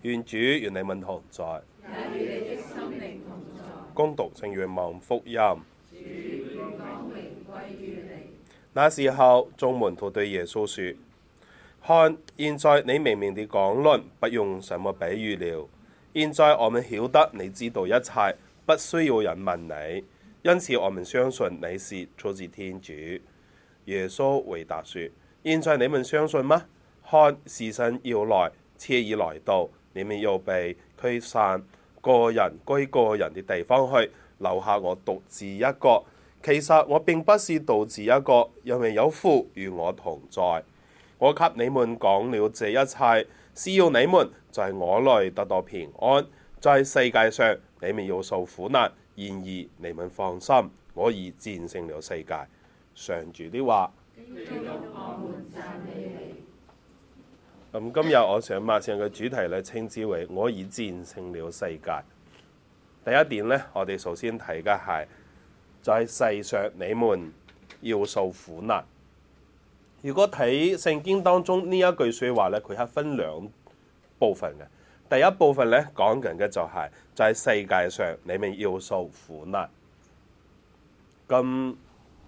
願主與你們同在， 也與你的心靈同在。 恭讀聖若望福音。 主願光榮歸於你。 那時候，眾門徒對耶穌說：看，現在你明明地講論，不用什麼比喻了。現在我們曉得你知道一切，不需要人問你，因此我們相信你是出自天主。耶穌回答說：現在你們相信嗎？看，時辰要來，且已來到，你們要被驅散，個人歸個人的地方去，留下我獨自一個。其實我並不是獨自一個，因為有父與我同在。我給你們講了這一切，是要你們在我內得到平安。在世界上你們要受苦難，然而你們放心，我已戰勝了世界。上主的話。今日我想默想嘅主題咧，稱之為我已戰勝了世界。第一點咧，我哋首先睇嘅係在世上你們要受苦難。如果睇聖經當中呢一句說話咧，佢係分兩部分嘅。第一部分咧講緊嘅就係在世界上你們要受苦難。咁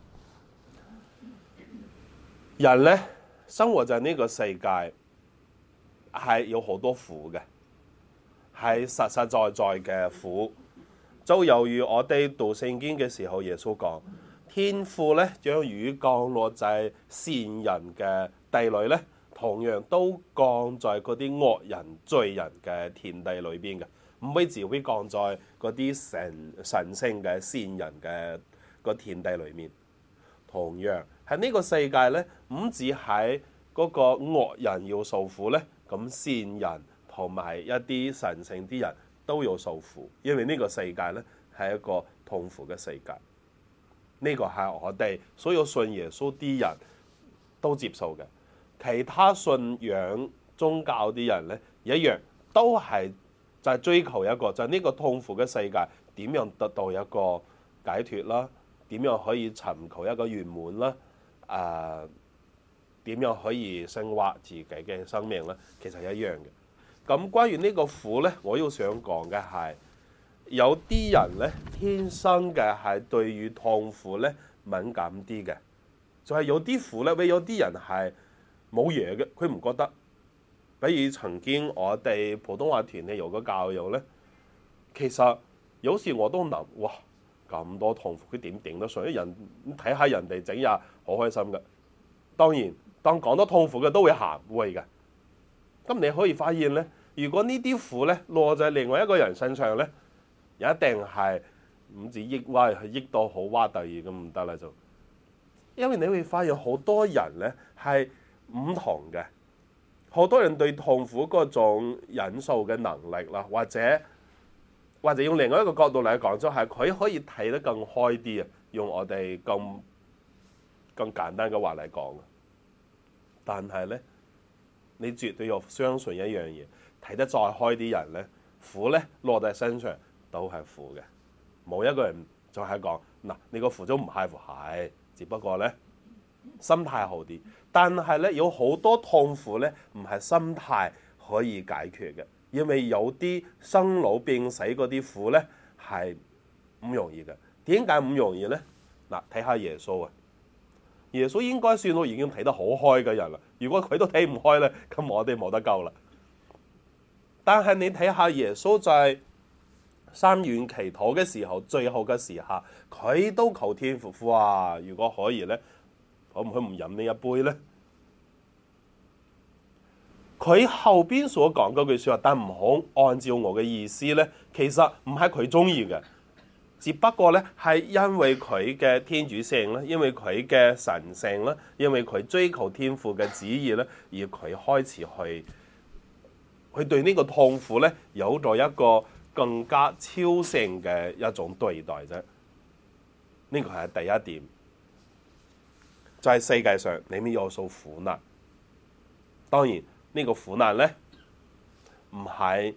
人咧生活在呢個世界係有好多苦嘅，係實實在在嘅苦。就猶如我哋讀聖經嘅時候，耶穌講天父咧將雨降落在善人嘅地裏咧，同樣都降在嗰啲惡人罪人嘅田地裏邊嘅，唔會只會降在嗰啲神聖嘅善人嘅個田地裏面。同樣喺呢個世界咧，唔止喺嗰個惡人要受苦咧，咁善人同埋一啲神聖啲人都要受苦，因為呢個世界咧係一個痛苦嘅世界。呢個係我哋所有信耶穌啲人都接受嘅，其他信仰宗教啲人咧一樣都係就係追求一個就係呢個痛苦嘅世界點樣得到一個解脫啦，點樣可以尋求一個圓滿啦，點樣可以升華自己嘅生命咧，其實一樣嘅。咁關於呢個苦咧，我要想講嘅係有啲人咧天生嘅係對於痛苦咧敏感啲嘅，就係有啲苦咧，有啲人係冇嘢嘅，佢唔覺得。比如曾經我哋普通話團咧有個教友咧，其實有時我都諗，哇咁多痛苦佢點頂得順？人睇下人哋整日好開心嘅。當然當講到痛苦嘅都會喊會嘅。咁你可以發現咧，如果呢啲苦咧落在另外一個人身上咧，一定係唔止抑鬱，係抑到好哇突然咁唔得啦就。因為你會發現好多人咧係唔同嘅，好多人對痛苦嗰種忍受嘅能力啦，或者用另外一個角度嚟講，就係佢可以睇得更開啲啊。用我哋更簡單嘅話嚟講，但係咧，你絕對要相信一樣嘢，睇得再開啲人咧，苦咧落在身上都係苦嘅。冇一個人就係講嗱，你個苦都唔係苦，係只不過咧心態好啲。但係咧有好多痛苦咧，唔係心態可以解決嘅。因為有啲生老病死嗰啲苦咧係唔容易嘅。點解唔容易咧？嗱，睇下耶穌啊，耶穌應該算到已經睇得好開嘅人啦。如果佢都睇唔開咧，咁我哋冇得救啦。但係你睇下耶穌在三元祈禱嘅時候，最後嘅時刻，佢都求天父，哇！如果可以咧，可唔可以唔飲呢一杯咧？佢後邊所講嗰句説話，但唔好按照我嘅意思咧，其實唔係佢中意嘅，只不過咧係因為佢嘅天主性咧，因為佢嘅神性咧，因為佢追求天父嘅旨意咧，而佢開始去對呢個痛苦咧有咗一個更加超性嘅一種對待啫。呢個係第一點，就係世界上你們要受苦難。當然。呢個苦難咧，唔係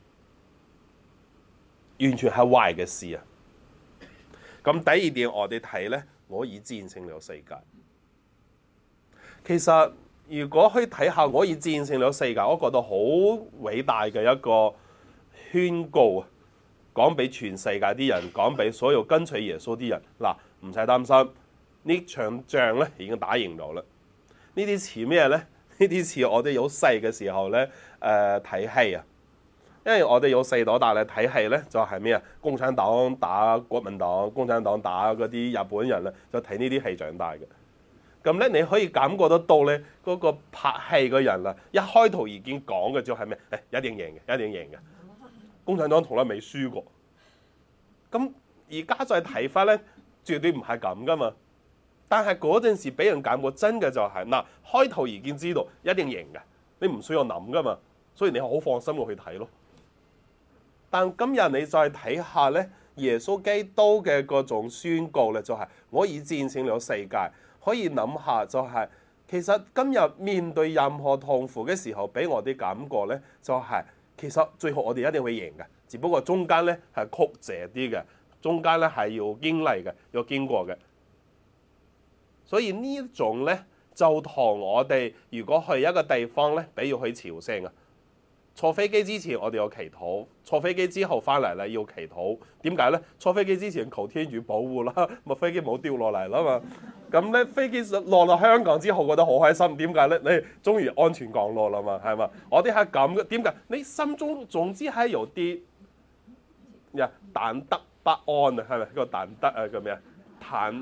完全係壞嘅事啊。咁第二點我哋睇咧，我已戰勝了世界。其實如果去睇下我已戰勝了世界，我覺得好偉大嘅一個宣告啊！講俾全世界啲人，講俾所有跟隨耶穌啲人，嗱，唔使擔心，呢場仗咧已經打贏咗啦。呢啲似咩咧？呢啲似我哋有細嘅時候咧，睇戲啊，因為我哋有細到大咧睇戲咧，就係咩啊？共產黨打國民黨，共產黨打嗰啲日本人咧，就睇呢啲戲長大嘅。咁咧，你可以感覺得到咧，嗰個拍戲嘅人啊，一開頭已經講嘅就係咩？一定贏嘅，一定贏嘅。共產黨從來未輸過。咁而家再睇翻咧，絕對唔係咁噶嘛。但係嗰陣時俾人感覺真嘅就係嗱，開頭已經知道一定贏嘅，你唔需要諗噶嘛，所以你好放心去睇咯。但今日你再睇下咧，耶穌基督嘅嗰種宣告咧，就係我已戰勝了世界。可以諗下就係，其實今日面對任何痛苦嘅時候，俾我哋感覺咧，就係其實最後我哋一定會贏嘅，只不過中間咧係曲折啲嘅，中間咧係要經歷嘅，要經過嘅。所以呢一種咧，就同我哋如果去一個地方咧，比如去朝聖啊，坐飛機之前我哋要祈禱，坐飛機之後翻嚟咧要祈禱。點解咧？坐飛機之前求天主保護啦，咪飛機冇掉落嚟啦嘛。咁咧飛機落香港之後覺得好開心。點解咧？你終於安全降落啦嘛，係嘛？我哋係咁嘅。點解？你心中總之係有啲忐忑不安啊，係咪？個忐忑啊，叫咩啊？忐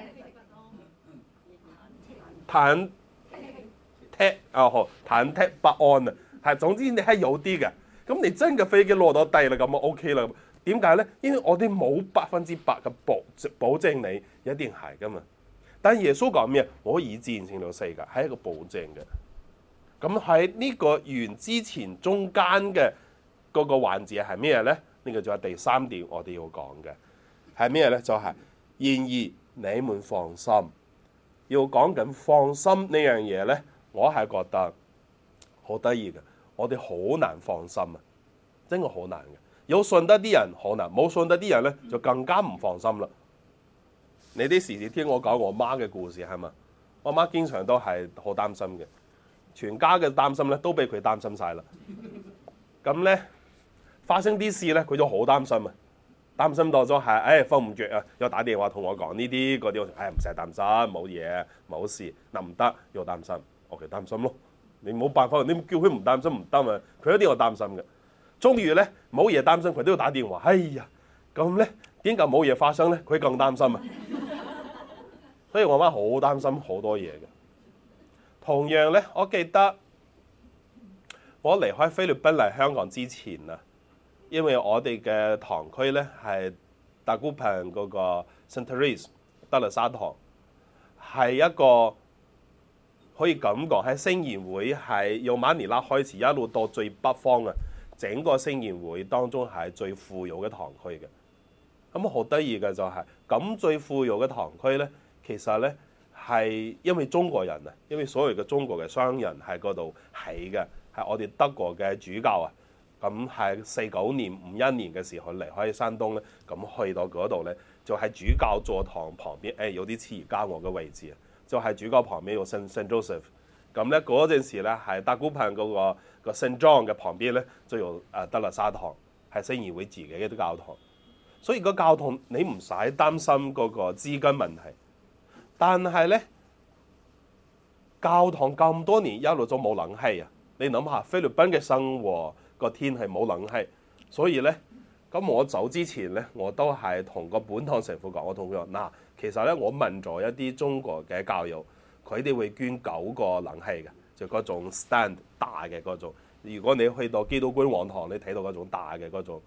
忑啊，好，忐忑不安啊，係總之你係有啲嘅。咁你真嘅飛機落到地啦，咁啊 OK 啦。點解咧？因為我哋冇100%嘅保證你一定係噶嘛。但耶穌講咩？我已戰勝了世界，係一個保證嘅。咁喺呢個完之前中間嘅嗰個環節係咩咧？呢個就係第3點我哋要講嘅係咩咧？就係然而你們放心。要講緊放心呢樣嘢咧，我係覺得好得意嘅。我哋好難放心啊，真係好難嘅。有信得啲人好難，冇信得啲人咧就更加唔放心啦。你啲時時聽我講我媽嘅故事係嘛？我媽經常都係好擔心嘅，全家嘅擔心咧都俾佢擔心晒啦。咁咧發生啲事咧，佢就好擔心啊，擔心到咗係瞓唔着啊，又打電話同我講呢啲嗰啲，我唔使擔心，冇嘢冇事，嗱唔得要擔心，我哋擔心咯。你冇辦法，你叫佢唔擔心唔得嘛，佢一定要擔心嘅。終於咧冇嘢擔心，佢都要打電話。哎呀，咁咧點解冇嘢發生咧？佢更擔心啊！所以我媽好擔心好多嘢嘅。同樣咧，我記得我離開菲律賓嚟香港之前啊，因為我哋嘅堂區咧係大姑坪嗰個 St. Therese 德肋撒堂，係一個可以咁講喺聖言會係由馬尼拉開始一路到最北方啊，整個聖言會當中係最富有嘅堂區嘅。咁好得意嘅就係咁最富有嘅堂區咧，其實咧係因為中國人啊，因為所有嘅中國嘅商人喺嗰度起嘅，係我哋德國嘅主教啊。咁係49年、51年嘅時候離開山東咧，咁去到嗰度咧，就喺主教座堂旁邊，有啲似而家我嘅位置啊，就係主教旁邊有聖 Joseph。咁咧嗰陣時咧，係大姑坪嗰個聖 John 嘅旁邊咧，就有德肋撒堂，係聖言會自己嘅啲教堂。所以個教堂你唔使擔心嗰個資金問題，但係咧教堂咁多年一路都冇冷氣啊！你諗下菲律賓嘅生活個天氣冇冷氣，所以咧咁我走之前咧，我都係同個本堂神父講，我同佢講嗱，其實咧我問咗一啲中國嘅教友，佢哋會捐9個冷氣嘅，就嗰種 stand 大嘅嗰種。如果你去到基督君王堂，你睇到嗰種大嘅嗰種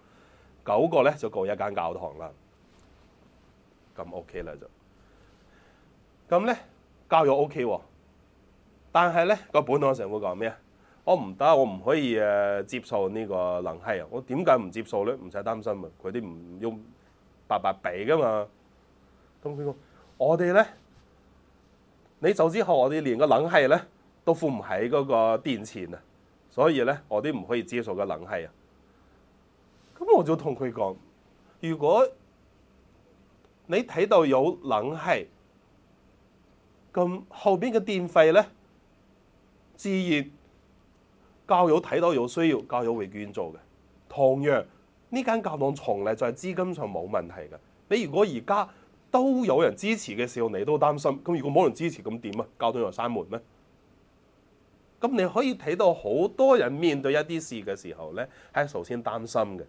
9個咧，就夠一間教堂啦。咁 OK 啦就，咁咧教友 OK 喎，但係咧個本堂神父講咩啊？我唔得，我唔可以接受呢個冷氣啊！我點解唔接受咧？唔使擔心啊，佢哋唔要白白俾噶嘛。咁佢講我哋咧，你走之後，我哋連個冷氣咧都付唔起嗰個電錢啊，所以咧我哋唔可以接受個冷氣啊。咁我就同佢講，如果你睇到有冷氣，咁後邊嘅電費咧， 自然教友睇到有需要，教友會捐助嘅。同樣呢間教堂從嚟就係資金上冇問題嘅。你如果而家都有人支持嘅時候，你都擔心，咁如果冇人支持咁點啊？教堂又閂門咩？咁你可以睇到好多人面對一啲事嘅時候咧，係首先擔心嘅。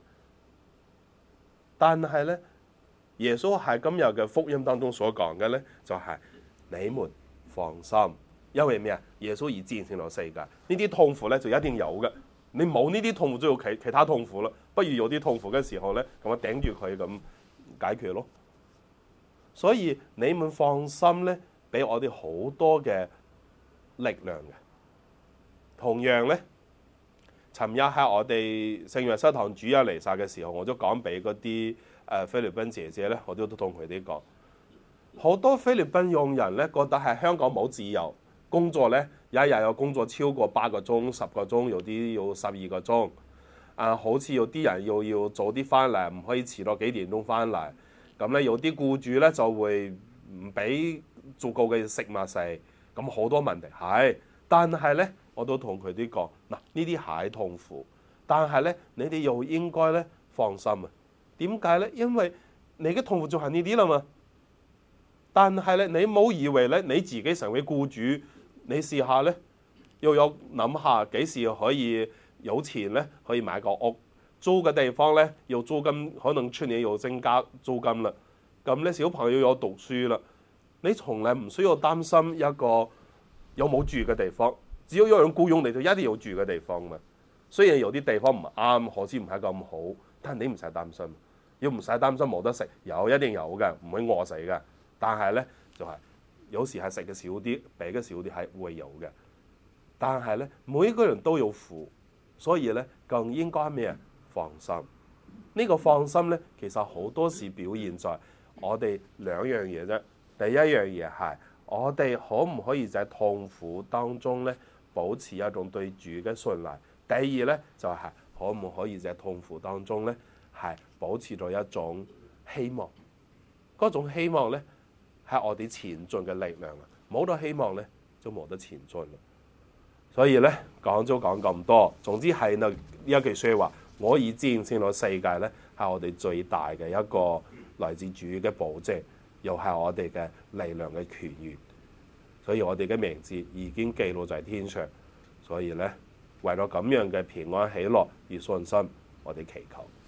但係咧，耶穌喺今日嘅福音當中所講嘅咧，就係你們放心，因為咩啊？耶穌已戰勝咗世界，呢啲痛苦咧就一定有嘅。你冇呢啲痛苦，就要其他痛苦啦。不如有啲痛苦嘅時候咧，咁我頂住佢咁解決咯。所以你們放心咧，俾我哋好多嘅力量嘅。同樣咧，尋日喺我哋聖約瑟堂主日彌撒嘅時候，我都講俾嗰啲菲律賓姐姐咧，我都同佢哋講，好多菲律賓傭人咧覺得喺香港冇自由，工作咧一日有工作超過8個鐘、10個鐘，有啲要12個鐘。好似有啲人要早啲翻嚟，唔可以遲到幾點鐘翻嚟。咁咧有啲僱主咧就會唔俾足夠嘅食物食，咁好多問題係。但係咧，我都同佢哋講，嗱，呢啲係痛苦，但係咧你哋又應該咧放心啊。點解咧？因為你嘅痛苦就係呢啲啦嘛。但係咧，你冇以為咧你自己成為僱主，你試下咧，又有諗下幾時可以有錢咧，可以買個屋，租嘅地方咧，要租金可能出年要增加租金啦。咁咧小朋友有讀書啦，你從來唔需要擔心一個有冇住嘅地方，只要有人僱用你就一定有住嘅地方嘛。雖然有啲地方唔啱，好似唔係咁好，但係你唔使擔心，要唔使擔心冇得食，一定有嘅，唔會餓死嘅。但係咧就係有時係食嘅少啲，俾嘅少啲係會有嘅。但係咧每個人都有苦，所以咧更應該咩啊？放心。呢個放心咧，其實好多時表現在我哋兩樣嘢啫。第一樣嘢係我哋可唔可以在痛苦當中咧保持一種對主嘅信賴？第二咧就係可唔可以在痛苦當中咧係保持咗一種希望？嗰種希望咧係我哋前進嘅力量啊！冇咗希望咧就冇得前進啦。所以咧講咗講咁多，總之係呢一句説話，我已戰勝咗世界咧，係我哋最大嘅一個來自主嘅保證，又係我哋嘅力量嘅泉源。所以我哋嘅名字已經記錄在天上。所以咧，為咗咁樣嘅平安喜樂與信心，我哋祈求。